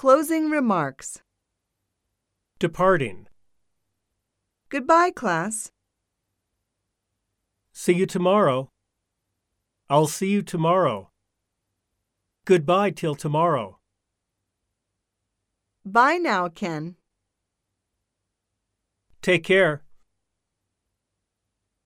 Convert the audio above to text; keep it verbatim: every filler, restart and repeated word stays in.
Closing remarks. Departing. Goodbye, class. See you tomorrow. I'll see you tomorrow. Goodbye till tomorrow. Bye now, Ken. Take care.